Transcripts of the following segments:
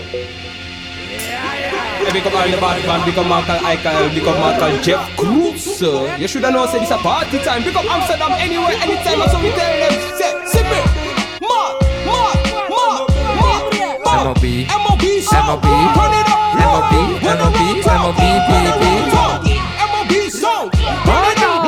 Big up all the bad man, big up Michael Eichel, big up Michael Jeff Cruz. You should have known, say this a party time. Big up Amsterdam anywhere, anytime, so we tell them, say, Sippy, MOB, MOB, turn it up, MOB, MOB song, turn it up,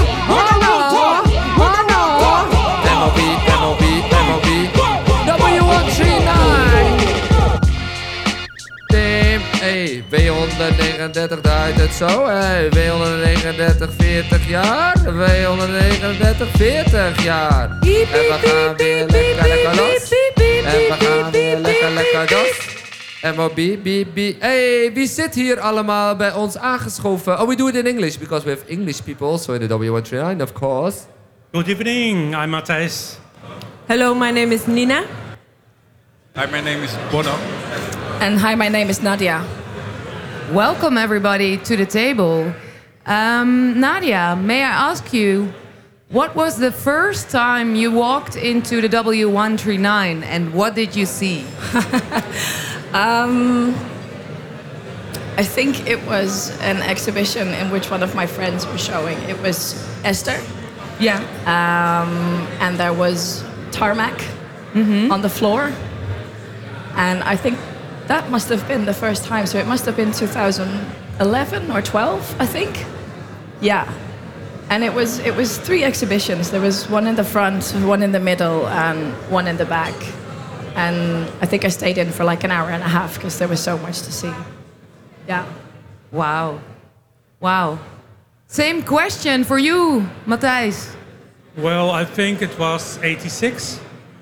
Hey, W139 draait het zo, hey, W139 40 jaar, W139 40 jaar. En we gaan weer lekker los. En we gaan weer lekker los. MOB, BB. Hey, wie zit hier allemaal bij ons aangeschoven? Oh, we do it in English, because we have English people also in the W139, of course. Good evening, I'm Matthijs. Hello, my name is Nina. Hi, my name is Bono. And hi, my name is Nadia. Welcome everybody to the table. Nadia, may I ask you, what was the first time you walked into the W139 and what did you see? I think it was an exhibition in which one of my friends was showing. It was Esther. Yeah. And there was tarmac on the floor. And I think that must have been the first time. So it must have been 2011 or 12, I think. Yeah. And it was 3 exhibitions. There was one in the front, one in the middle, and one in the back. And I think I stayed in for like an hour and a half because there was so much to see. Yeah. Wow. Same question for you, Matthijs. Well, I think it was 86.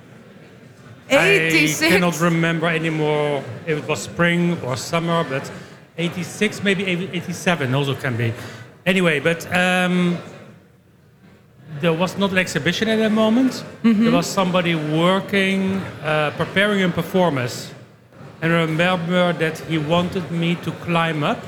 86? I cannot remember anymore if it was spring or summer, but 86, maybe 87 also can be. Anyway, but there was not an exhibition at that moment. There was somebody working, preparing a performance. And I remember that he wanted me to climb up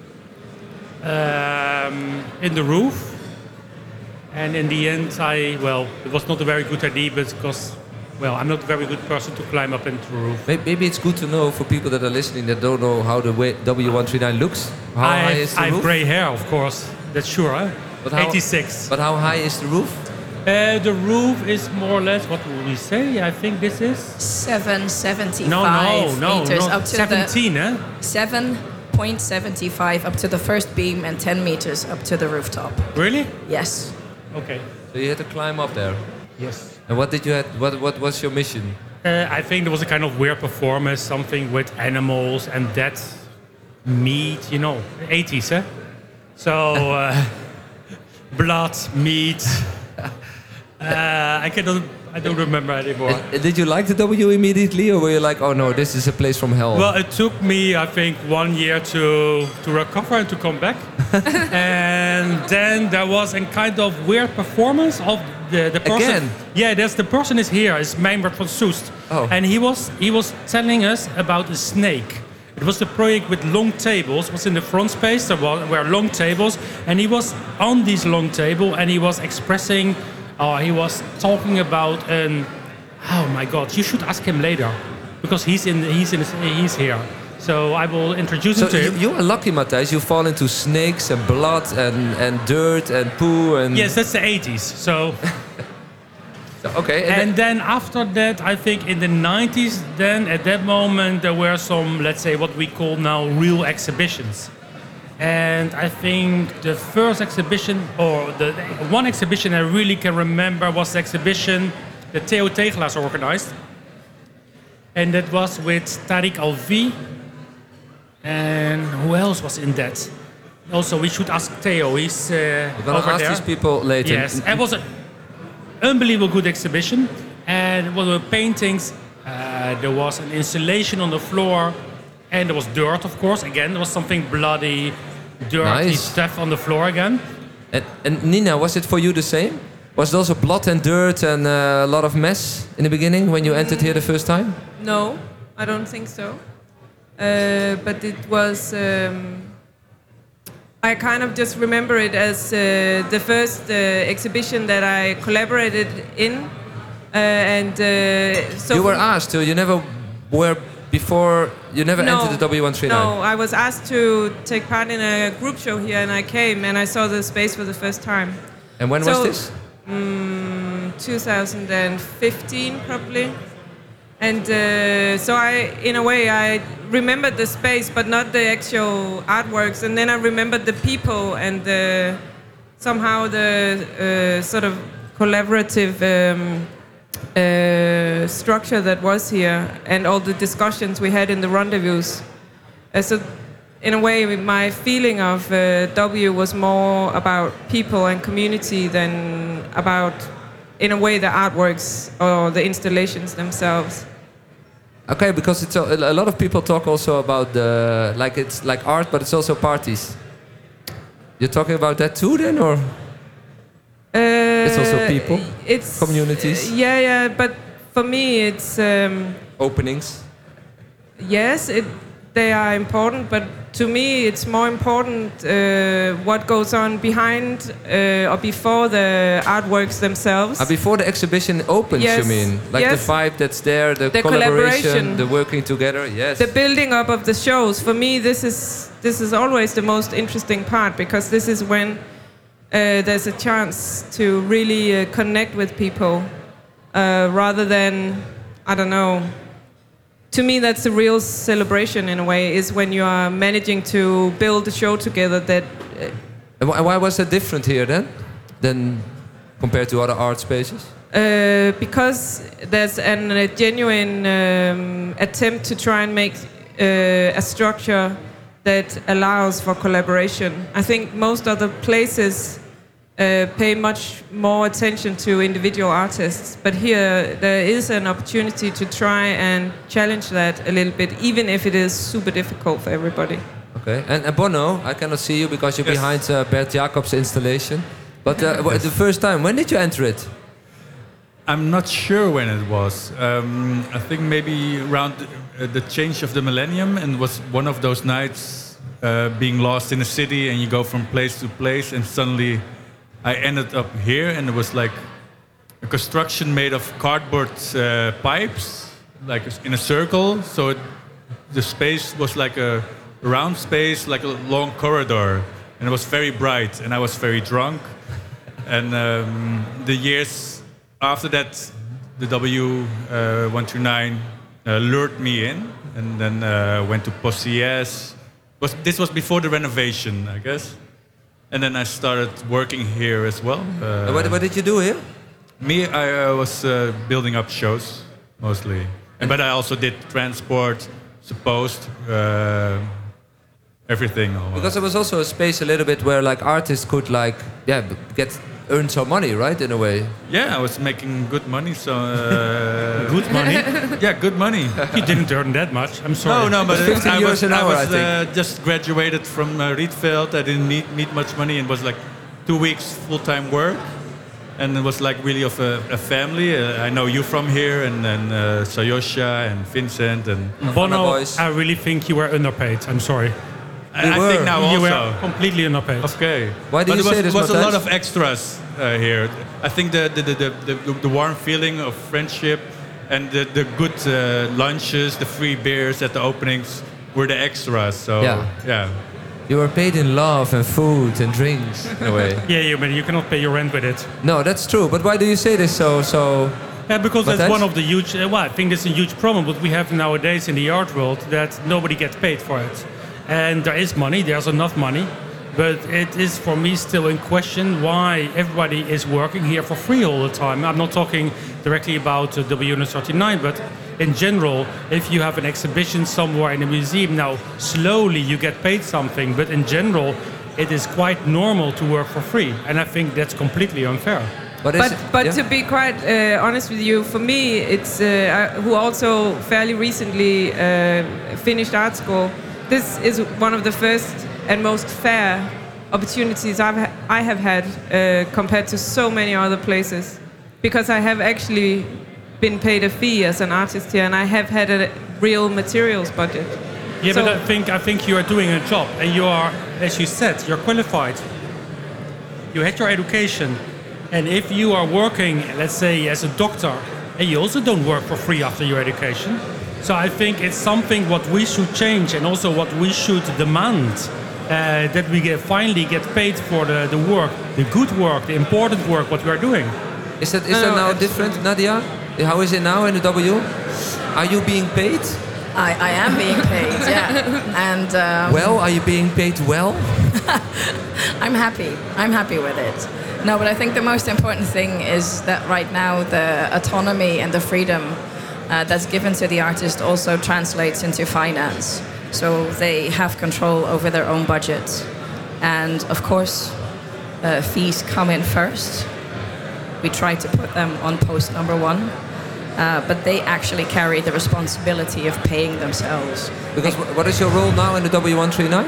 in the roof. And in the end, it was not a very good idea because, I'm not a very good person to climb up into the roof. Maybe it's good to know for people that are listening that don't know how the W139 looks. How high is the I roof? have grey hair, of course. That's sure, huh? But how, 86. But how high is the roof? The roof is more or less, what would we say? I think this is... 775 No, meters up to 17, the... 7.75 up to the first beam and 10 meters up to the rooftop. Really? Yes. Okay. So you had to climb up there. Yes. And what did you have? What was your mission? I think there was a kind of weird performance, something with animals and dead meat, 80s, eh? So, blood, meat. I don't remember anymore. Did you like the W immediately, or were you like, oh no, this is a place from hell? Well, it took me, I think, 1 year to recover and to come back. And then there was a kind of weird performance of the person. Again? Yeah, the person is here. It's Mijnbert van Soest. Oh. And he was telling us about a snake. It was the project with long tables. It was in the front space. There were long tables. And he was on this long table and he was expressing... he was talking about oh my God! You should ask him later, because he's here. So I will introduce him to him. You are lucky, Matthijs. You fall into snakes and blood and dirt and poo and. Yes, that's the 80s. So. Okay. And then after that, I think in the 90s, then at that moment there were some, let's say, what we call now real exhibitions. And I think the first exhibition, or the one exhibition I really can remember, was the exhibition that Theo Tegelaars organized. And that was with Tariq Alvi. And who else was in that? Also, we should ask Theo. He's We're gonna over ask there. these people later. Yes, it was an unbelievable good exhibition. And there were paintings. There was an installation on the floor. And there was dirt, of course. Again, there was something bloody, dirty Nice. stuff on the floor again. And Nina, was it for you the same? Was it also blood and dirt and a lot of mess in the beginning when you entered here the first time? No, I don't think so. But it was... I kind of just remember it as the first exhibition that I collaborated in. So You were asked to. You never were before you never entered the W139? No, I was asked to take part in a group show here, and I came and I saw the space for the first time. And when was this? 2015 probably. And so in a way, I remembered the space, but not the actual artworks. And then I remembered the people and somehow the sort of collaborative structure that was here, and all the discussions we had in the rendezvous. So in a way, my feeling of W was more about people and community than about, in a way, the artworks or the installations themselves. Okay, because it's a lot of people talk also about it's like art, but it's also parties. You're talking about that too, then, or it's also people, it's communities. Yeah, but for me, it's openings. Yes, they are important, but to me, it's more important what goes on behind or before the artworks themselves. Before the exhibition opens, yes, you mean? Like yes. the vibe that's there, the collaboration, the working together, yes. The building up of the shows. For me, this is always the most interesting part, because this is when there's a chance to really connect with people rather than, I don't know. To me, that's the real celebration in a way, is when you are managing to build a show together that... And why was that different here then, than compared to other art spaces? Because there's a genuine attempt to try and make a structure that allows for collaboration. I think most other places pay much more attention to individual artists, but here there is an opportunity to try and challenge that a little bit, even if it is super difficult for everybody. Okay, and Bono, I cannot see you because you're behind Bert Jacobs' installation, but the first time, when did you enter it? I'm not sure when it was. I think maybe around the change of the millennium, and was one of those nights being lost in a city, and you go from place to place, and suddenly I ended up here, and it was like a construction made of cardboard pipes, like in a circle. So the space was like a round space, like a long corridor, and it was very bright, and I was very drunk. And the years after that, the W129 lured me in, and then went to Possies. This was before the renovation, I guess. And then I started working here as well. What did you do here? Me, I was building up shows, mostly. But I also did transport, supposed, everything. Because there was also a space a little bit where like artists could earn some money, right, in a way? Yeah, I was making good money, so... Good money? Yeah, good money. You didn't earn that much, I'm sorry. No, but 15 euros an hour, I was just graduated from Rietveld. I didn't need much money, and was like 2 weeks full-time work. And it was like really of a family. I know you from here, and then Sayosha and Vincent and... Bono, I really think you were underpaid, I'm sorry. I think now You also. were completely underpaid. Okay. Why do you say this, There was a Matthijs? lot of extras here. I think the warm feeling of friendship and the good lunches, the free beers at the openings were the extras. So yeah. You were paid in love and food and drinks, in a way. Yeah, but you cannot pay your rent with it. No, that's true. But why do you say this so? Yeah, because that's Matthijs? one of the huge... I think that's a huge problem what we have nowadays in the art world, that nobody gets paid for it. And there is money, there's enough money, but it is for me still in question why everybody is working here for free all the time. I'm not talking directly about W139, but in general, if you have an exhibition somewhere in a museum, now slowly you get paid something, but in general, it is quite normal to work for free. And I think that's completely unfair. But to be quite honest with you, for me, it's who also fairly recently finished art school. This is one of the first and most fair opportunities I have had compared to so many other places, because I have actually been paid a fee as an artist here, and I have had a real materials budget. Yeah, So- but I think you are doing a job, and you are, as you said, you're qualified. You had your education, and if you are working, let's say, as a doctor, and you also don't work for free after your education, So I think it's something what we should change and also what we should demand. That we finally get paid for the work, the good work, the important work, what we are doing. Is that now different, Nadia? How is it now in the W? Are you being paid? I am being paid, yeah. And well, are you being paid well? I'm happy. I'm happy with it. No, but I think the most important thing is that right now the autonomy and the freedom that's given to the artist also translates into finance. So they have control over their own budget. And of course, fees come in first. We try to put them on post number 1. But they actually carry the responsibility of paying themselves. Because what is your role now in the W139?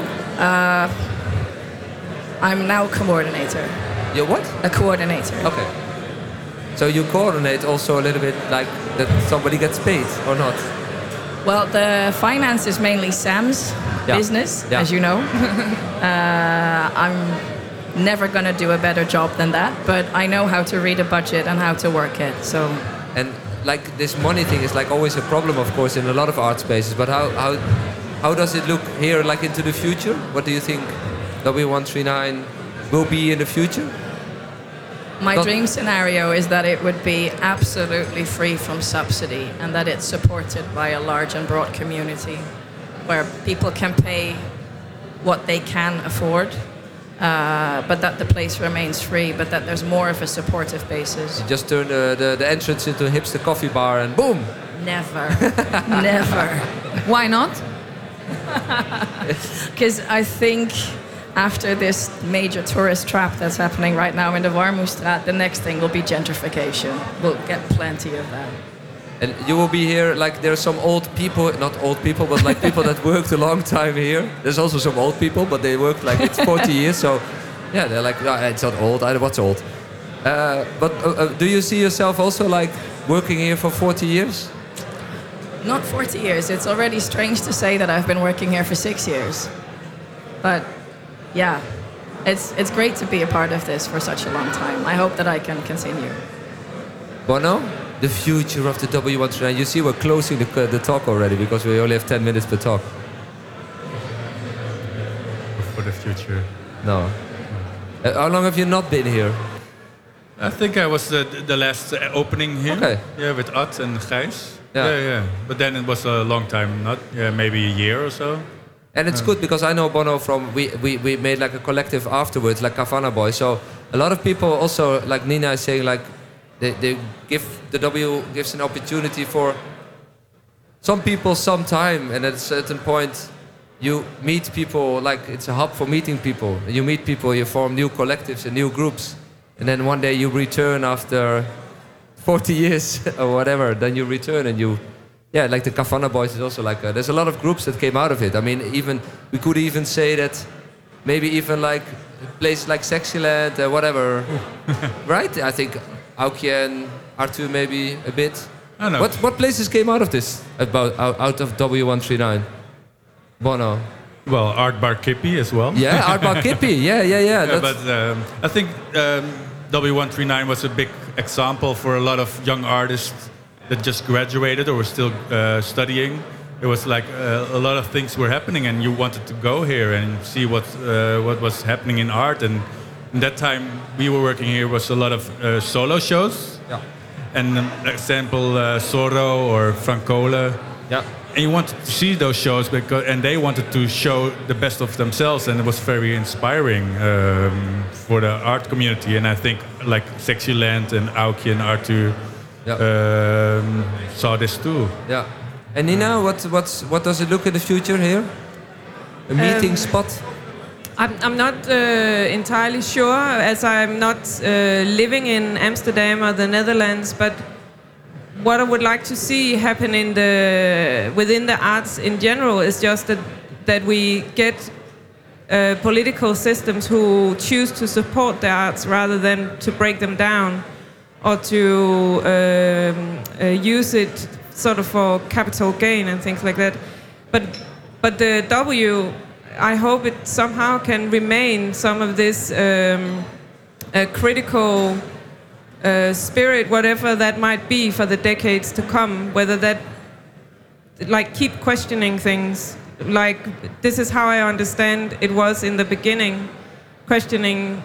I'm now coordinator. You're what? A coordinator. Okay. So you coordinate also a little bit like that somebody gets paid or not? Well, the finance is mainly Sam's business, as you know. I'm never going to do a better job than that, but I know how to read a budget and how to work it. So. And like this money thing is like always a problem, of course, in a lot of art spaces. But how does it look here, like into the future? What do you think W139 will be in the future? My dream scenario is that it would be absolutely free from subsidy and that it's supported by a large and broad community where people can pay what they can afford, but that the place remains free, but that there's more of a supportive basis. You just turn the entrance into a hipster coffee bar and boom! Never. Never. Why not? Because I think after this major tourist trap that's happening right now in the Warmoestraat, the next thing will be gentrification. We'll get plenty of that. And you will be here, like there are some old people, not old people, but like people that worked a long time here. There's also some old people, but they worked like it's 40 years, so yeah, they're like, oh, it's not old, what's old? But do you see yourself also like working here for 40 years? Not 40 years. It's already strange to say that I've been working here for 6 years. But yeah, it's great to be a part of this for such a long time. I hope that I can continue. Bono, the future of the W139. You see we're closing the talk already because we only have 10 minutes per talk. For the future. No. How long have you not been here? I think I was the last opening here. Okay. Yeah, with Ad and Gijs. Yeah. Yeah. But then it was a long time, not maybe a year or so. And it's good because I know Bono from, we made like a collective afterwards, like Havana Boys. So a lot of people also, like Nina is saying, like they give, the W gives an opportunity for some people some time. And at a certain point, you meet people, like it's a hub for meeting people. You meet people, you form new collectives and new groups. And then one day you return after 40 years or whatever, then you return and you, yeah, like the Havana Boys is also like, there's a lot of groups that came out of it. I mean, even, we could even say that maybe even like places like Sexyland, whatever, right? I think Aukje and Arthur maybe a bit. I know. What places came out of this, out of W139? Bono. Well, Art Bar Kippie as well. Yeah, Art Bar Kippie, yeah. But I think W139 was a big example for a lot of young artists that just graduated or were still studying. It was like a lot of things were happening, and you wanted to go here and see what was happening in art. And in that time, we were working here was a lot of solo shows. Yeah. And example, Zorro or Francola. Yeah. And you wanted to see those shows and they wanted to show the best of themselves, and it was very inspiring for the art community. And I think like Sexyland and Aukje and Arthur saw this too. Yeah. And Nina, what does it look in the future here? A meeting spot? I'm not entirely sure, as I'm not living in Amsterdam or the Netherlands, but what I would like to see happen within the arts in general is just that we get political systems who choose to support the arts rather than to break them down or to use it sort of for capital gain and things like that. But the W, I hope it somehow can remain some of this critical spirit, whatever that might be for the decades to come, whether that like keep questioning things. Like this is how I understand it was in the beginning, questioning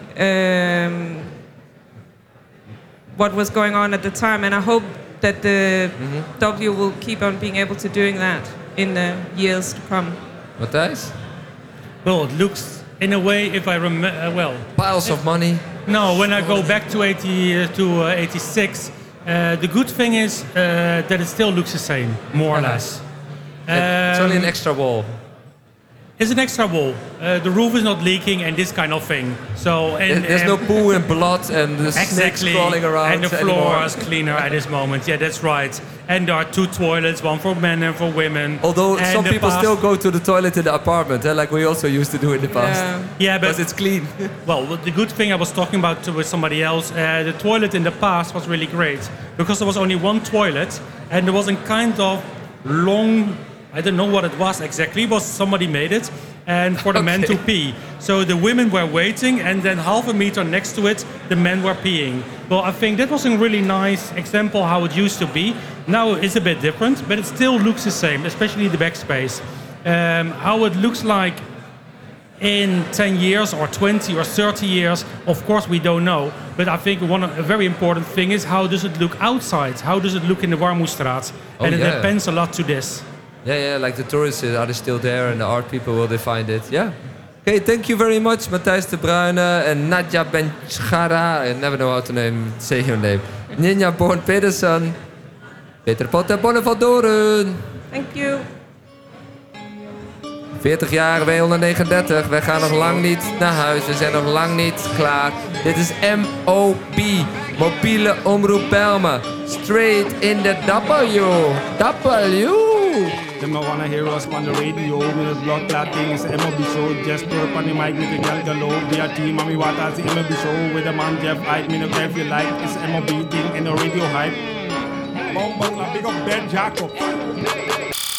what was going on at the time, and I hope that the W will keep on being able to doing that in the years to come. Matthijs? Well, it looks, in a way, if I remember, well... Piles of money. No, when I go back to 86, the good thing is that it still looks the same, more or less. It's only an extra wall. It's an extra wall. The roof is not leaking and this kind of thing. So there's no poo and blood and the snakes exactly, crawling around and the floor anymore. is cleaner at this moment. Yeah, that's right. And there are 2 toilets, one for men and for women. Although and some people still go to the toilet in the apartment, like we also used to do in the past. Yeah, but because it's clean. Well, the good thing I was talking about with somebody else, the toilet in the past was really great because there was only one toilet and there was a kind of long, I don't know what it was exactly, but somebody made it, and for the men to pee. So the women were waiting, and then half a meter next to it, the men were peeing. Well, I think that was a really nice example how it used to be. Now it's a bit different, but it still looks the same, especially the backspace. How it looks like in 10 years or 20 or 30 years, of course we don't know. But I think a very important thing is how does it look outside? How does it look in the Warmoestraat? And it depends a lot to this. Yeah, like the tourists, are they still there? And the art people, will they find it? Yeah. Okay, thank you very much, Matthijs de Bruyne and Nadja Benchara. I never know how to say your name. Ninja Born Pedersen. Peter Potter Bonnevaldoren. Thank you. 40 jaar, W139. Wij gaan nog lang niet naar huis. We zijn nog lang niet klaar. Dit is MOB. Mobiele Omroep Bijlmer. Straight in the W. Them no wanna hear us on the radio. With the blood clot thing, it's the MLB show. Just put on the mic with the gal galore. Be a team, mommy waters, the MLB show. With the man Jeff Hype, me no care if you like. It's the MLB thing and the radio hype. Bumble, big up Ben Jacob.